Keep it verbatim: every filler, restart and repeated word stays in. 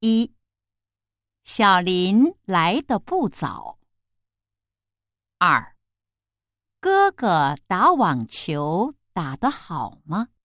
一，小林来得不早。二，哥哥打网球打得好吗？